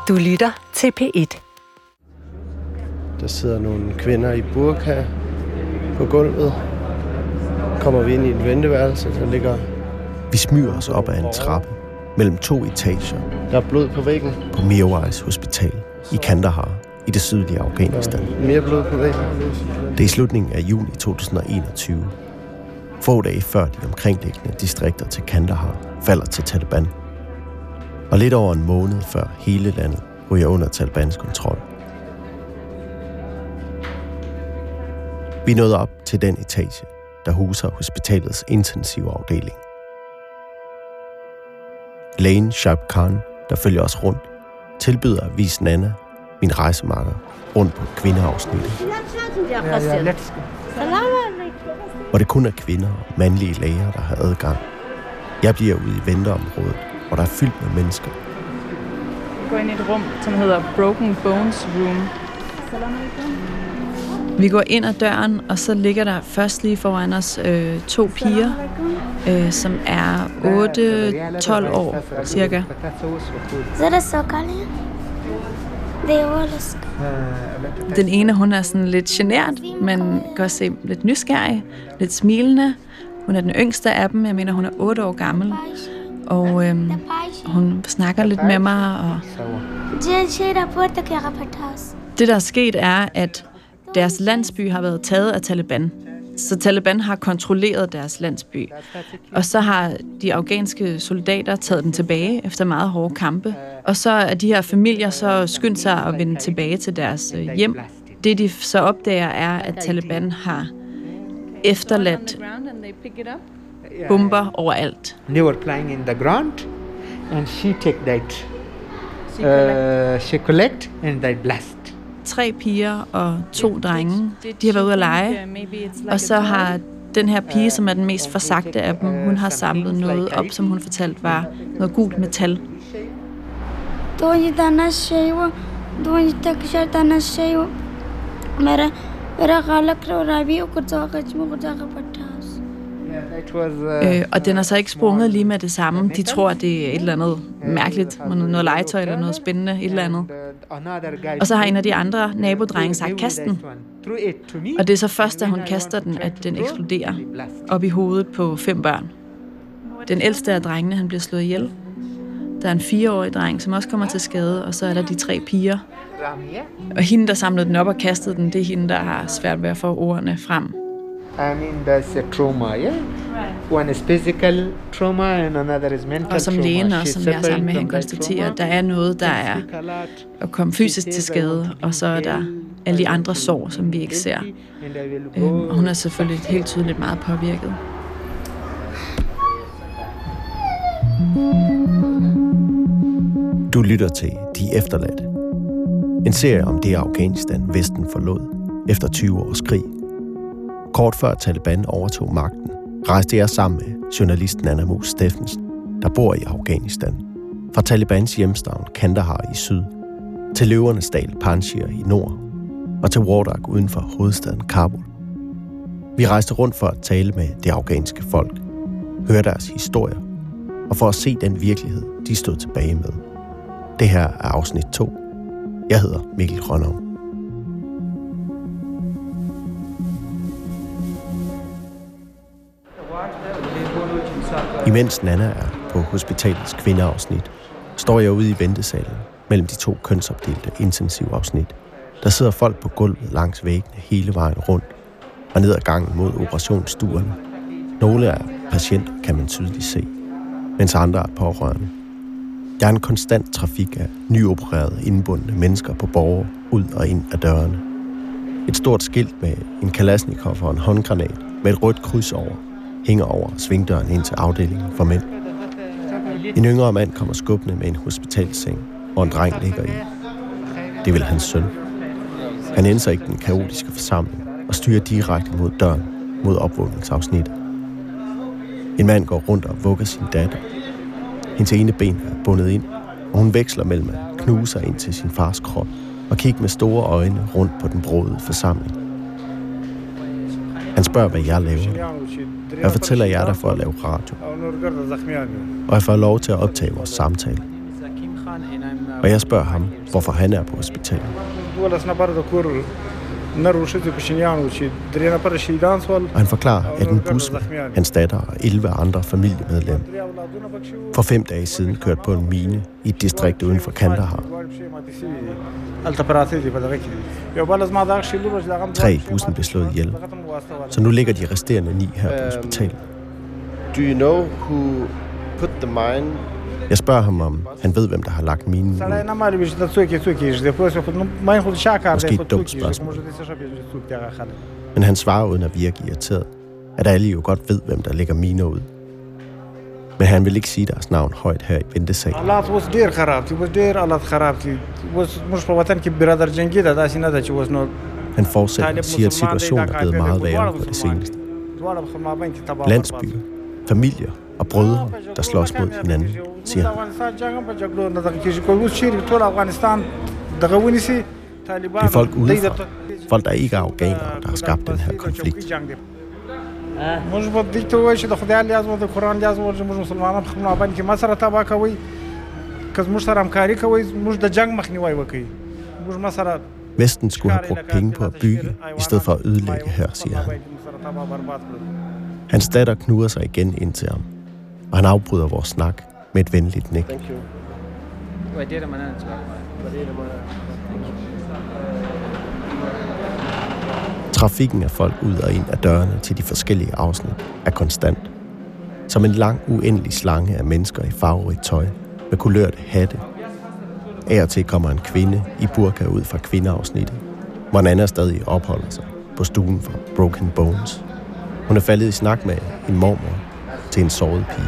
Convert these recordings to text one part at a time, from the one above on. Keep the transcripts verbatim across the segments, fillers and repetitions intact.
Du lytter til P et. Der sidder nogle kvinder i burka på gulvet. Kommer vi ind i et venteværelse, der ligger... Vi smyger os op ad en trappe mellem to etager. Der er blod på væggen. På Mirwais Hospital i Kandahar i det sydlige Afghanistan. Mere blod på væggen. Det er i slutningen af juni to tusind og enogtyve. Få dage før de omkringliggende distrikter til Kandahar falder til Taliban. Og lidt over en måned før hele landet ryger under Talibans kontrol. Vi nåede op til den etage, der huser hospitalets intensive afdeling. Lægen Shaib Khan, der følger os rundt, tilbyder at vise Nana, min rejsemakker, rundt på kvindeafsnittet. Hvor det kun er kvinder og mandlige læger, der har adgang. Jeg bliver ude i venteområdet, hvor der er fyldt med mennesker. Vi går ind i et rum, som hedder Broken Bones Room. Vi går ind ad døren, og så ligger der først lige foran os øh, to piger, øh, som er otte tolv år cirka. Den ene, hun er sådan lidt genert, men kan også se lidt nysgerrig, lidt smilende. Hun er den yngste af dem, jeg mener, hun er otte år gammel. Og øhm, hun snakker lidt med mig. Og det, der er sket, er, at deres landsby har været taget af Taliban. Så Taliban har kontrolleret deres landsby. Og så har de afghanske soldater taget den tilbage efter meget hårde kampe. Og så er de her familier så skyndt sig at vende tilbage til deres hjem. Det, de så opdager, er, at Taliban har efterladt bomber overalt. They were playing in the ground, and she take that. Uh, she collect and they blast. Tre piger og to drenge. De har været ude at lege, og så har den her pige, som er den mest forsagte af dem, hun har samlet noget op, som hun fortalte var noget gult metal. Øh, og den er så ikke sprunget lige med det samme. De tror, det er et eller andet mærkeligt, noget legetøj eller noget spændende, et eller andet. Og så har en af de andre nabodrenge sagt, kast den. Og det er så først, da hun kaster den, at den eksploderer op i hovedet på fem børn. Den ældste af drengene, han bliver slået ihjel. Der er en fireårig dreng, som også kommer til skade, og så er der de tre piger. Og hende, der samlede den op og kastede den, det er hende, der har svært ved at få ordene frem. I mean, that's a trauma, yeah? One is physical trauma, and another is mental trauma. Og som lægen også, som jeg er sammen med, han konstaterer, at der er noget, der er at komme fysisk til skade, og så er der alle de andre sår, som vi ikke ser. Øhm, og hun er selvfølgelig helt tydeligt meget påvirket. Du lytter til De Efterladte. En serie om det Afghanistan, Vesten forlod efter tyve års krig. Kort før Taliban overtog magten, rejste jeg sammen med journalisten Anna Moos Steffensen, der bor i Afghanistan, fra Talibans hjemstavn Kandahar i syd, til løvernes dal Panjshir i nord, og til Wardak uden for hovedstaden Kabul. Vi rejste rundt for at tale med det afghanske folk, høre deres historier, og for at se den virkelighed, de stod tilbage med. Det her er afsnit to. Jeg hedder Mikkel Rønnow. Imens Nana er på hospitalets kvindeafsnit, står jeg ude i ventesalen mellem de to kønsopdelte intensivafsnit. Der sidder folk på gulvet langs væggene hele vejen rundt og ned ad gangen mod operationsstuerne. Nogle af patienter kan man tydeligt se, mens andre er pårørende. Der er en konstant trafik af nyopererede, indbundne mennesker på borger ud og ind af dørene. Et stort skilt med en Kalashnikov og en håndgranat med et rødt kryds over hænger over svingdøren ind til afdelingen for mænd. En yngre mand kommer skubbende med en hospitalsseng, hvor en dreng ligger i. Det er vel hans søn. Han ændrer ikke den kaotiske forsamling og styrer direkte mod døren, mod opvågningsafsnittet. En mand går rundt og vugger sin datter. Hendes ene ben er bundet ind, og hun veksler mellem at knuse sig ind til sin fars krop og kigge med store øjne rundt på den brodede forsamling. Han spørger, hvad jeg laver. Jeg fortæller jer der for at lave radio. Og jeg får lov til at optage vores samtale. Og jeg spørger ham, hvorfor han er på hospitalet. Og han forklarer, at en bus med hans datter og elleve andre familiemedlemmer for fem dage siden kørte på en mine i et distrikt uden for Kandahar. Tre i bussen blev slået ihjel, så nu ligger de resterende ni her på hospitalet. Do you know who put the mine? Jeg spørger ham, om han ved, hvem der har lagt minen ud. Måske et dumt spørgsmål. Men han svarer uden at virke irriteret, at alle jo godt ved, hvem der lægger miner ud. Men han vil ikke sige deres navn højt her i ventesalen. Han fortsætter og siger, at situationen er blevet meget værre på det seneste. Landsbyer, familier og brødre, der slås mod hinanden, siger han. Det er folk udefra, folk der ikke er afghanere, der har skabt den her konflikt. Vesten skulle have brugt penge på at bygge, i stedet for at ødelægge her, siger han. Hans datter knuger sig igen ind til ham, og han afbryder vores snak med et venligt nik. Trafikken af folk ud og ind af dørene til de forskellige afsnit er konstant. Som en lang, uendelig slange af mennesker i farverigt tøj med kulørte hatte. Af og til kommer en kvinde i burka ud fra kvindeafsnittet, hvor en anden stadig opholder sig på stuen for Broken Bones. Hun er faldet i snak med en mormor til en såret pige.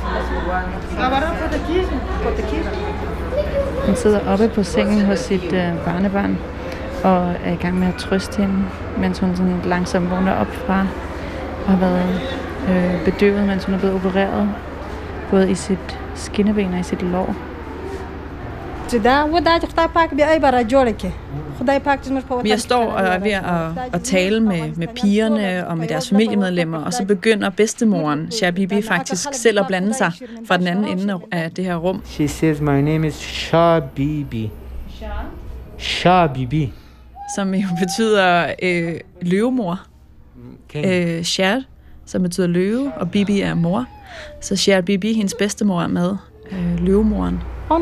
Han sidder oppe på sengen hos sit øh, barnebarn og er i gang med at trøste hende, mens hun sådan langsomt vågner op fra og har været øh, bedøvet, mens hun er blevet opereret, både i sit skinneben og i sit lår. Jeg står og er ved at, at tale med, med pigerne og med deres familiemedlemmer, og så begynder bedstemoren, Shah Bibi, faktisk selv at blande sig fra den anden ende af det her rum. She says, my name is Shah Bibi. Shah Bibi. Som jo betyder øh, løvemor. Øh, Shah, som betyder løve, og Bibi er mor. Så Shah Bibi, hendes bedstemor, er med. Øh, løvemoren.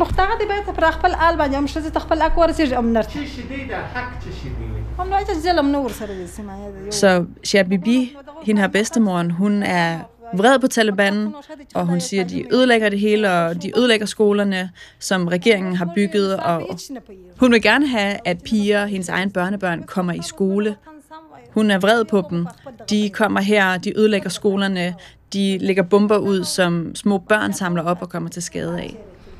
Så Shah Bibi, hende her bedstemoren, hun er vred på Taliban, og hun siger, at de ødelægger det hele, og de ødelægger skolerne, som regeringen har bygget, og hun vil gerne have, at piger, hendes egen børnebørn, kommer i skole. Hun er vred på dem. De kommer her, de ødelægger skolerne, de lægger bomber ud, som små børn samler op og kommer til skade af.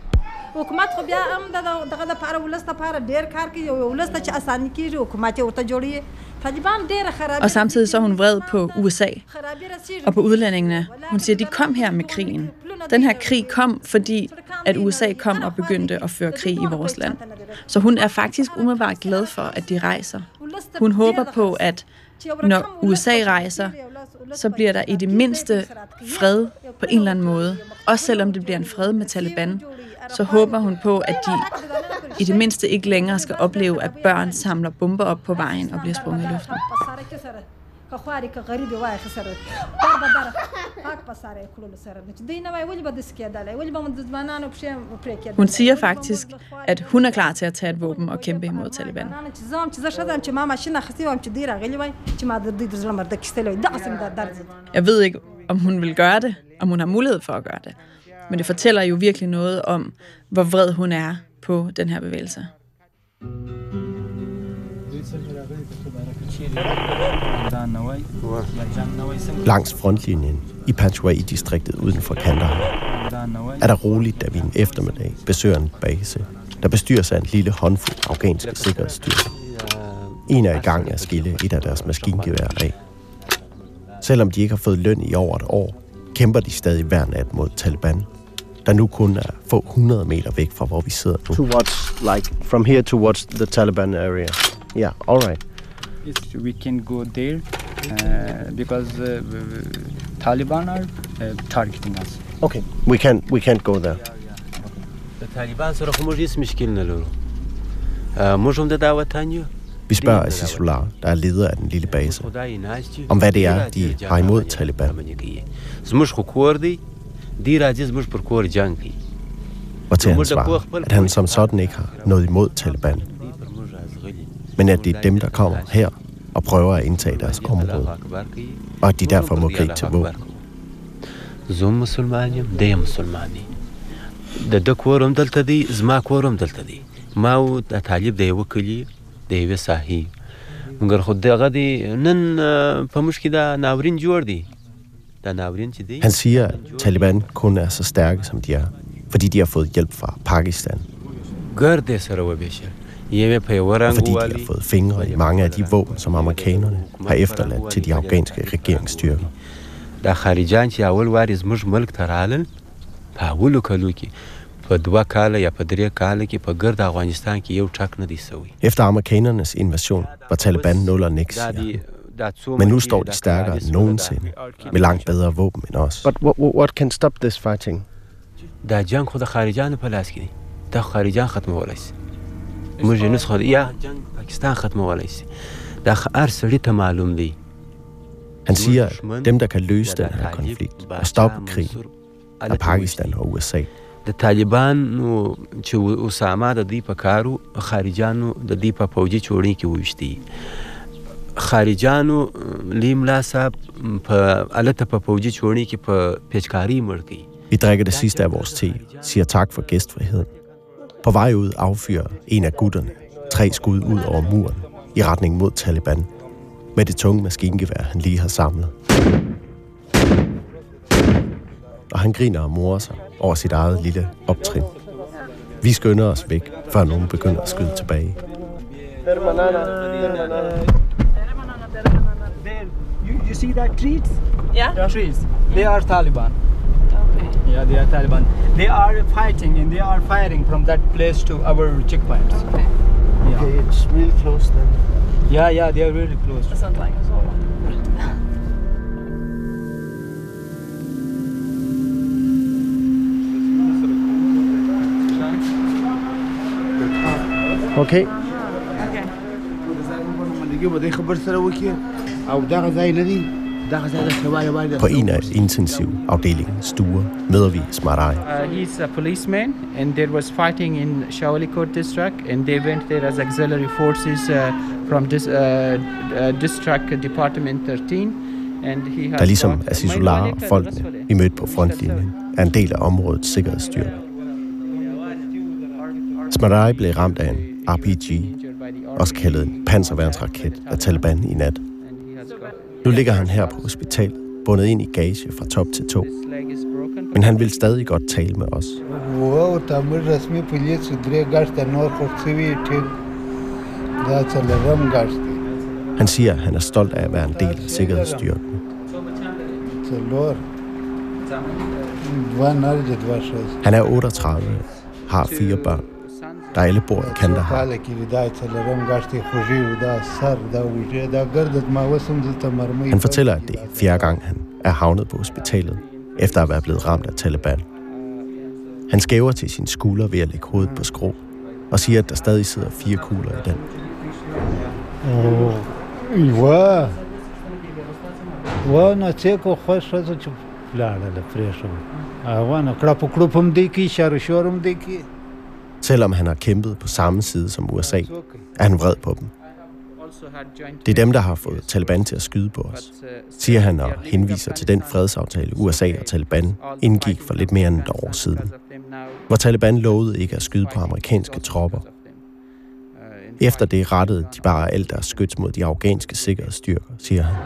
Og samtidig så er hun vred på U S A og på udlændingene. Hun siger, at de kom her med krigen. Den her krig kom, fordi at U S A kom og begyndte at føre krig i vores land. Så hun er faktisk umiddelbart glad for, at de rejser. Hun håber på, at når U S A rejser, så bliver der i det mindste fred på en eller anden måde. Også selvom det bliver en fred med Taliban, så håber hun på, at de i det mindste ikke længere skal opleve, at børn samler bomber op på vejen og bliver sprunget i luften. Hun siger faktisk, at hun er klar til at tage et våben og kæmpe imod Taliban. Jeg ved ikke, om hun vil gøre det, om hun har mulighed for at gøre det. Men det fortæller jo virkelig noget om, hvor vred hun er på den her bevægelse. Langs frontlinjen i Panjwai-distriktet uden for Kandahar er der roligt, da vi en eftermiddag besøger en base, der bestyres af en lille håndfuld afghanske sikkerhedsstyrker. En er i gang med at skille et af deres maskingeværer af. Selvom de ikke har fået løn i over et år, kæmper de stadig hver nat mod Taliban, der nu kun er få hundrede meter væk fra, hvor vi sidder nu. Towards, like, from here towards the Taliban area. Yeah, all right. We can go there uh, because uh, Taliban are uh, targeting us. Okay, we can't we can't go there. Vi spørger Azizullah, der er leder af den lille base, om hvad det er, de har imod Taliban. Og til han svarer, at han som sådan ikke har noget imod Taliban, men at det er dem, der kommer her og prøver at indtage deres område, og at de derfor må gribe til våben. زوم مسلمانیم دی مسلمانی د د کورم دلته دی زما کورم دلته دی ما او د طالب دی وکلی دی و صحیح مګر خو دغه دی نن په مشکې دا ناورین جوړ دی دا ناورین چې دی. Han siger, at Taliban kun er så stærke, som de er, fordi de har fået hjælp fra Pakistan. ګر دې سره وبېشل یې په یو Og fordi رنګ de har fået fingre i mange af de våben, som amerikanerne har efterladt til de afghanske regeringsstyrker. دا خارجان چې اول واري زموږ ملک ته رالل په اولو کلو کې په دوه کاله یا په درې کاله کې په ګرد افغانستان کې یو ټک نه دی سوی. Efter amerikanernes invasion var Taliban nul og niks, siger han. Men nu står de stærkere end nogensinde, med langt bedre våben end os. But what, what can stop this fighting? دا جنگ خو د خارجانو په لاس کې دی. دا خارجان ختمولی شي. موږ یې نسخه یا جنگ پاکستان ختمولی شي. دا هر سړي ته معلوم دی. Han siger, at dem, der kan løse den her konflikt og stoppe krigen, er Pakistan og U S A. د طالبانو چې اسامه د دې په کارو خارجانو د دې په فوجي چوړې کې وشتي خارجانو لیملا صاحب په الته په فوجي چوړې کې په پیچکاری مړ کی. Vi drikker det sidste af vores te, siger tak for gæstfriheden. På vej ud affyrer en af gutterne tre skud ud over muren i retning mod Taliban med det tunge maskingevær, han lige har samlet. Og han griner og morer sig over sit eget lille optrin. Vi skynder os væk, før nogen begynder at skyde tilbage. You, you see that trees? Yeah. Trees. They are Taliban. Okay. Yeah, they are Taliban. They are fighting and they are firing from that place to our checkpoints. Okay. Yeah. Okay, it's really close then. Yeah, yeah, they are really close. That sounds like us all. Okay. På en af intensivafdelingens stuer møder vi Smarai. Uh, he's a policeman, and there was fighting in Shawalikot district, and they went there as auxiliary forces uh, from this uh, uh, district department thirteen. And he has der ligesom Azizullah og folkene, vi mødte på frontlinjen, er en del af områdets sikkerhedsstyrke. Smarai blev ramt af en R P G, også kaldet en panserværnsraket, af Taliban i nat. Nu ligger han her på hospitalet, bundet ind i gage fra top til tå. Men han vil stadig godt tale med os. Han siger, at han er stolt af at være en del af sikkerhedsstyrken. Han er otteogtredive, har fire børn, der alle bor i Kandahar. Han fortæller, at det er fjerde gang, han er havnet på hospitalet, efter at være blevet ramt af Taliban. Han skæver til sin skulder ved at lægge hovedet på skrå, og siger, at der stadig sidder fire kugler i den. Selvom han har kæmpet på samme side som U S A, er han vred på dem. Det er dem, der har fået Taliban til at skyde på os, siger han og henviser til den fredsaftale, U S A og Taliban indgik for lidt mere end et år siden, hvor Taliban lovede ikke at skyde på amerikanske tropper. Efter det rettede de bare alt deres skyts mod de afghanske sikkerhedsstyrker, siger han.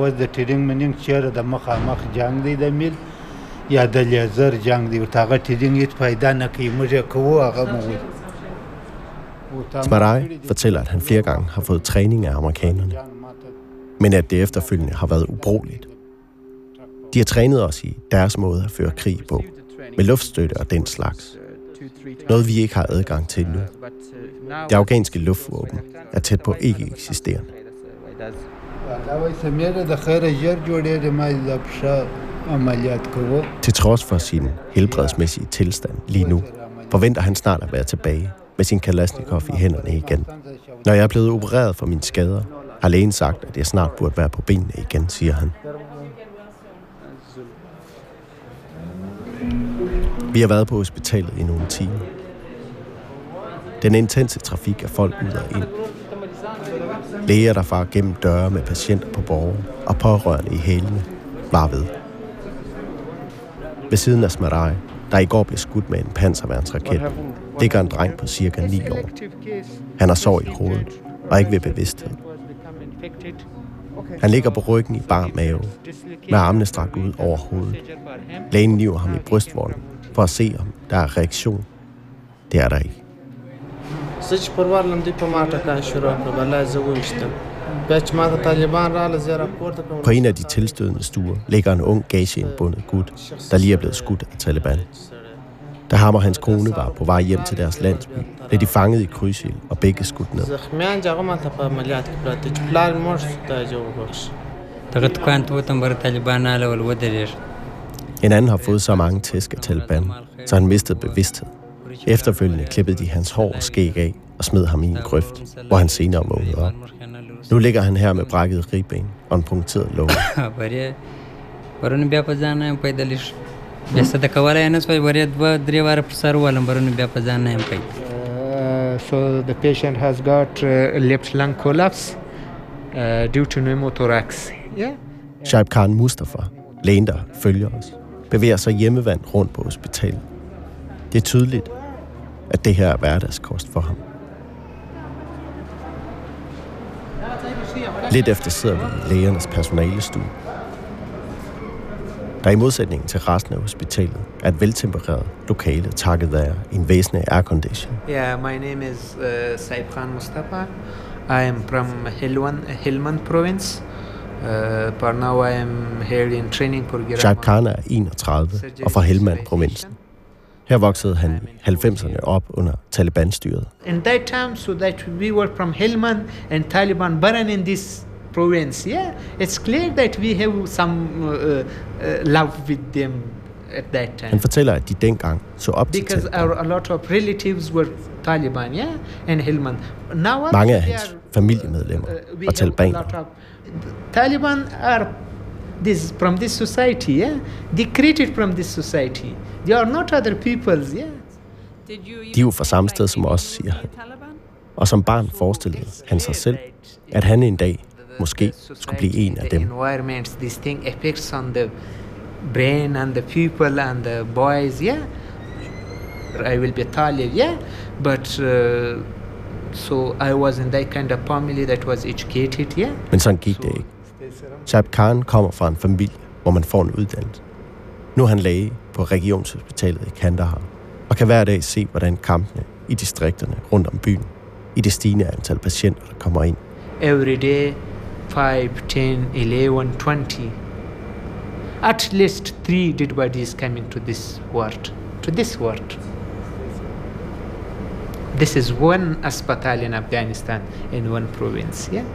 Smarai fortæller, at han flere gange har fået træning af amerikanerne, men at det efterfølgende har været ubrugeligt. De har trænet os i deres måde at føre krig på, med luftstøtte og den slags. Noget vi ikke har adgang til nu. Det afghanske luftvåben er tæt på ikke eksisterende. Til trods for sin helbredsmæssige tilstand lige nu, forventer han snart at være tilbage med sin Kalashnikov i hænderne igen. Når jeg er blevet opereret for mine skader, har lægen sagt, at jeg snart burde være på benene igen, siger han. Vi har været på hospitalet i nogle timer. Den intense trafik af folk ud og ind. Læger, der farer gennem døre med patienter på borger og pårørende i hælene, var ved. Ved siden af Smarai, der i går blev skudt med en panserværnsraket, ligger en dreng på cirka ni år. Han har sår i hovedet og ikke ved bevidsthed. Han ligger på ryggen i bar mave, med armene strakt ud over hovedet. Lægen niver ham i brystvorten for at se, om der er reaktion. Det er der ikke. På en af de tilstødende stuer ligger en ung gageindbundet gut, der lige er blevet skudt af Taliban. Da ham og hans kone var på vej hjem til deres landsby, blev de fanget i krydsild og begge skudt ned. En anden har fået så mange tæsk af Taliban, så han mistede bevidsthed. Efterfølgende klippede de hans hår og skæg af og smed ham i en grøft, hvor han senere vågnede op. Nu ligger han her med brækket ribben og en punkteret låg. Este de căvara e năspai băret bă drevara psaruală bărunu bea pe zana em pai. So the patient has got uh, left lung collapse uh, due to pneumothorax. Yeah. Shaib Khan Mustafa, lægen der følger os, bevæger sig hjemmevandt rundt på hospitalet. Det er tydeligt, at det her er hverdagskost for ham. Lidt efter sidder vi i lægernes personalestue. Der i modsætning til resten af hospitalet er et veltempereret lokale takket være en væsentlig aircondition. Yeah, my name is uh, Shaib Khan Mustafa. I am from Helwan, Helmand province. Uh, but now I am here in training program. Shaib Khan er enogtredive og fra Helmand-provinsen. Her voksede han i halvfemserne op under Taliban-styret. In that time, so that we were from Helmand and Taliban burn in this province, yeah, it's clear that we have some uh, uh, love with them at that time. Han fortæller, at de dengang så op til Because Taliban. Our, a lot of relatives were Taliban, yeah, and Helmand. Now mange af hans familiemedlemmer uh, var talibaner. Taliban are this from this society, yeah. They created from this society. They are not other peoples, yeah. De er jo fra samme sted som os, siger han. Og som barn forestillede han sig selv, at han en dag måske skulle blive en af dem. Environments, this thing affects on the brain and the people and the boys, yeah. I will be Talib, yeah. But uh, so I was in that kind of family that was educated, yeah. Men sådan gik det ikke. Shaib Khan kommer fra en familie, hvor man får en uddannelse. Nu er han læge på regionshospitalet i Kandahar, og kan hver dag se, hvordan kampene i distrikterne rundt om byen, i det stigende antal patienter, der kommer ind. Every day, five, ten, eleven, twenty. At least three dead bodies coming to this ward, to this ward. This is one hospital in Afghanistan, in one province, yeah.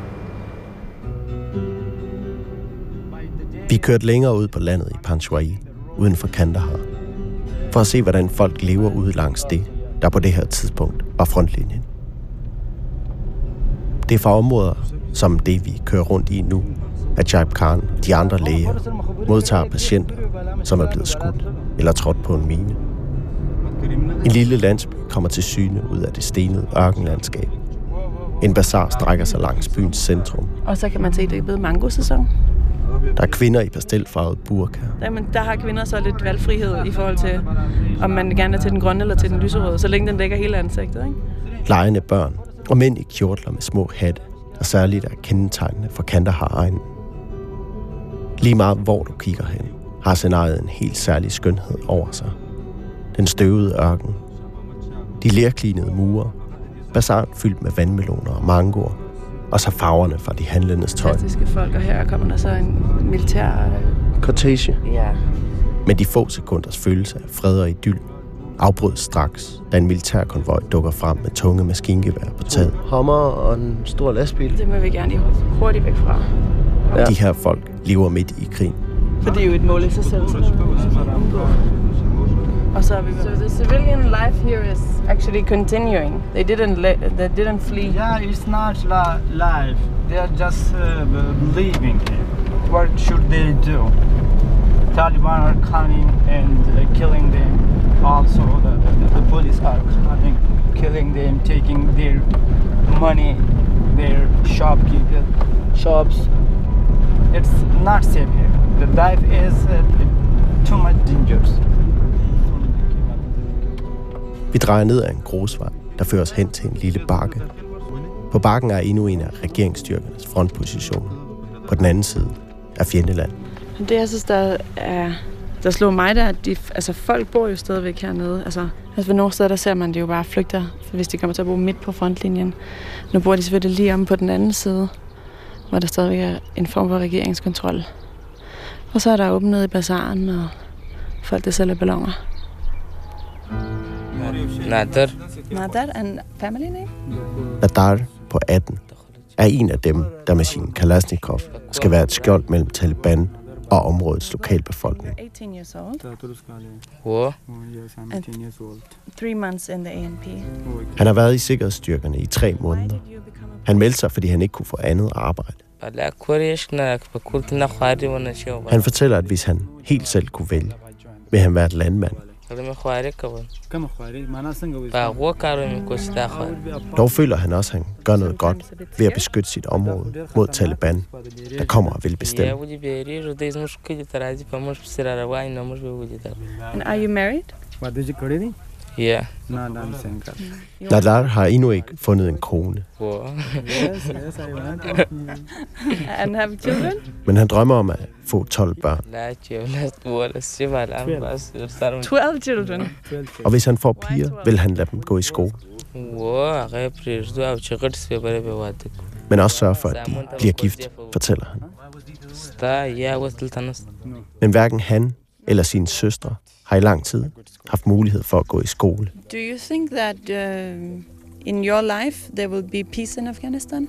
Vi kørte længere ud på landet i Panjshir, uden for Kandahar, for at se, hvordan folk lever ude langs det, der på det her tidspunkt var frontlinjen. Det er fra områder, som det vi kører rundt i nu, at Shaib Khan og de andre læger modtager patienter, som er blevet skudt eller trådt på en mine. En lille landsby kommer til syne ud af det stenede ørkenlandskab. En bazar strækker sig langs byens centrum. Og så kan man se, at det er blevet mango-sæson. Der er kvinder i pastelfarvet burka. Jamen, der har kvinder så lidt valgfrihed i forhold til, om man gerne er til den grønne eller til den lyserøde, så længe den dækker hele ansigtet, ikke? Legende børn og mænd i kjortler med små hatte, der særligt er kendetegnende for Kandahar-egnen. Lige meget hvor du kigger hen, har scenariet en helt særlig skønhed over sig. Den støvede ørken, de lerklinede mure, bazaren fyldt med vandmeloner og mangoer, og så farverne fra de handlendes tøj. Fantastiske folk, og her kommer der så en militær cortege. Ja. Men de få sekunders følelse af fred og idyll afbrydes straks, da en militærkonvoj dukker frem med tunge maskingevær på taget. Hummer og en stor lastbil. Det må vi gerne lige hurtigt væk fra. Ja. De her folk lever midt i krigen. For det er jo et mål i sig selv. Og så er vi So the civilian life here is actually continuing. They didn't le- they didn't flee. Yeah, it's not la- life. They are just uh, living here. What should they do? Taliban are coming and uh, killing them. Also, the, the, the police are coming, killing them, taking their money, their shopkeeper shops. It's not safe here. The life is uh, too much dangerous. Vi drejer ned ad en grusvej, der fører os hen til en lille bakke. På bakken er endnu en af regeringsstyrkernes frontpositioner. På den anden side er fjendeland. Det jeg synes, der, er, der slog mig, der, at de, altså, folk bor jo stadigvæk hernede. Altså, altså ved nogle steder, der ser man det jo bare flygter, hvis de kommer til at bo midt på frontlinjen. Nu bor de selvfølgelig lige om på den anden side, hvor der stadigvæk er en form for regeringskontrol. Og så er der åbent nede i bazaren, og folk, der sælger balloner. Nadar. Nadar and family name? Nadar på atten er en af dem, der med sin Kalashnikov skal være et skjold mellem Taliban og områdets lokalbefolkning. eighteen years old. Hvor? And three months in the A N P. Han har været i sikkerhedsstyrkerne i tre måneder. Han meldte sig, fordi han ikke kunne få andet arbejde. Han fortæller, at hvis han helt selv kunne vælge, vil han være et landmand. Dog føler han også, at han gør noget godt ved at beskytte sit område mod Taliban, der kommer og vil bestemme. And are you married? Yeah. Nadar har endnu ikke fundet en kone. And have children? Men han drømmer om at få tolv børn. twelve children. Og hvis han får piger, vil han lade dem gå i skole. Men også sørge for, at de bliver gift, fortæller han. Men hverken han eller sine søstre har i lang tid haft mulighed for at gå i skole. Do you think that uh, in your life there will be peace in Afghanistan?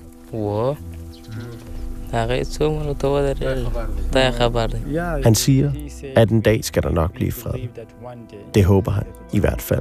Han siger, at en dag skal der nok blive fred. Det håber han i hvert fald.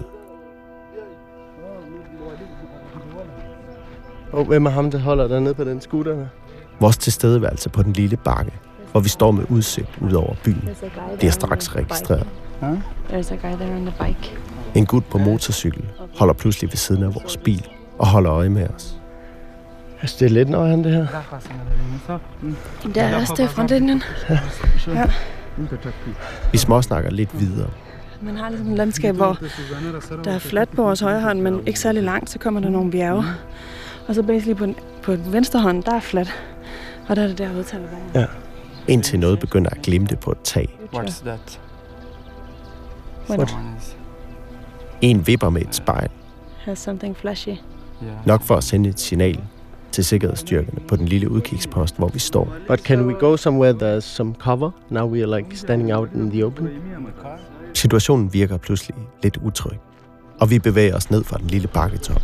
Og hvem er ham, der holder der nede på den scooter der? Vores tilstedeværelse på den lille bakke, hvor vi står med udsigt ud over byen, bliver straks registreret. There's a guy there on the bike. En gut på motorcykel holder pludselig ved siden af vores bil og holder øje med os. Altså, det er lidt nøje, han det her. Der er også det frontlinjen. Ja. Vi småsnakker lidt videre. Man har ligesom et landskab, hvor der er fladt på vores højre hånd, men ikke særlig langt, så kommer der nogle bjerge. Og så basically på, på venstre hånd, der er fladt. Og der er det derude til at ja. Indtil noget begynder at glimte på et tag. What's that? What? En vipper med et spejl. Has something flashy. Nok for at sende et signal til sikkerhedsstyrkerne på den lille udkigspost, hvor vi står. But can we go somewhere there's some cover? Now we are like standing out in the open. Situationen virker pludselig lidt utryg, og vi bevæger os ned fra den lille bakketop.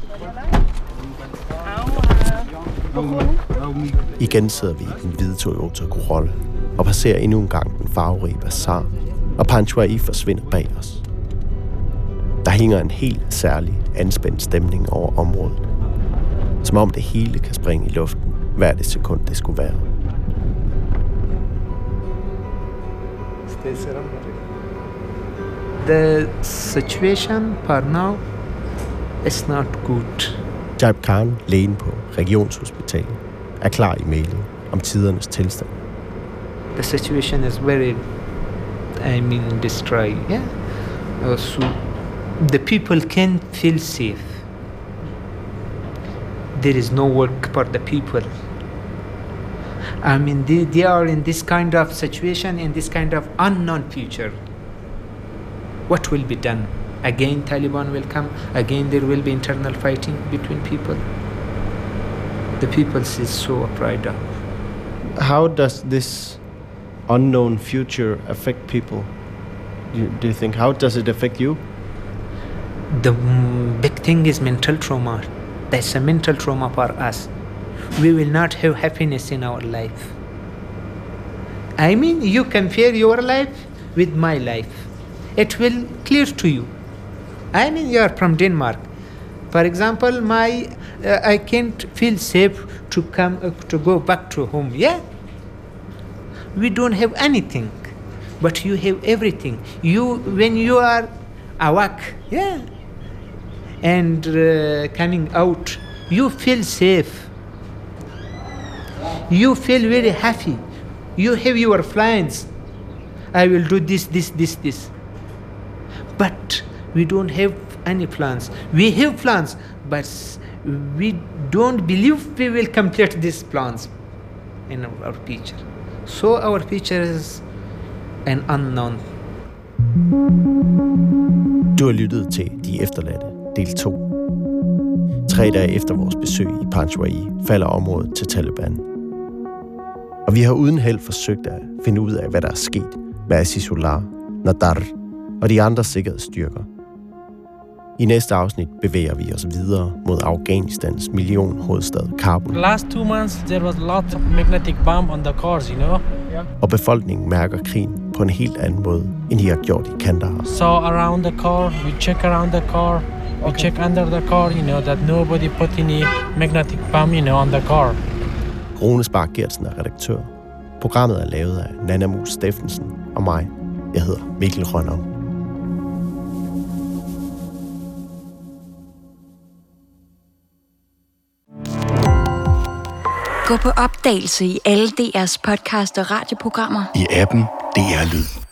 Igen sidder vi i den hvide Toyota Corolla og passerer endnu en gang den farverige bazar, og Panchwai forsvinder bag os. Der hænger en helt særlig anspændt stemning over området, som om det hele kan springe i luften hver det sekund det skulle være. The situation for now is not good. Jaib Khan, lægen på Regionshospitalet, er klar i mailet om tidernes tilstand. The situation is very, I mean, destroyed. Yeah. Uh, so the people can't feel safe. There is no work for the people. I mean, they, they are in this kind of situation, in this kind of unknown future. What will be done? Again, Taliban will come. Again, there will be internal fighting between people. The people is so afraid of. How does this unknown future affect people? Do you, do you think, how does it affect you? The mm, big thing is mental trauma. That's a mental trauma for us. We will not have happiness in our life. I mean, you compare your life with my life. it will clear to you. I mean, you are from Denmark. For example, my uh, I can't feel safe to come uh, to go back to home. Yeah, we don't have anything, but you have everything. You when you are awake, yeah, and uh, coming out, you feel safe. You feel very happy. You have your plans. I will do this, this, this, this. But we don't have any plans. We have plans, but we don't believe we will complete these plans in our future. So our future is an unknown. Du har lyttet til De Efterladte, del to. Tre dage efter vores besøg i Panjwai falder området til Taliban. Og vi har uden held forsøgt at finde ud af, hvad der er sket med Azizullah, Nadar og de andre sikkerhedsstyrker. I næste afsnit bevæger vi os videre mod Afghanistans millionhovedstad Kabul. Last two months there was a lot of magnetic bomb on the cars, you know. Og befolkningen mærker krigen på en helt anden måde, end de har gjort i Kandahar. So around the car, we check around the car, we check under the car, you know, that nobody put any magnetic bomb, you know, on the car. Rune Spark Gertsen er redaktør. Programmet er lavet af Nana Mus Steffensen og mig. Jeg hedder Mikkel Rønnow. Gå på opdagelse i alle D R's podcast og radioprogrammer. I appen D R Lyd.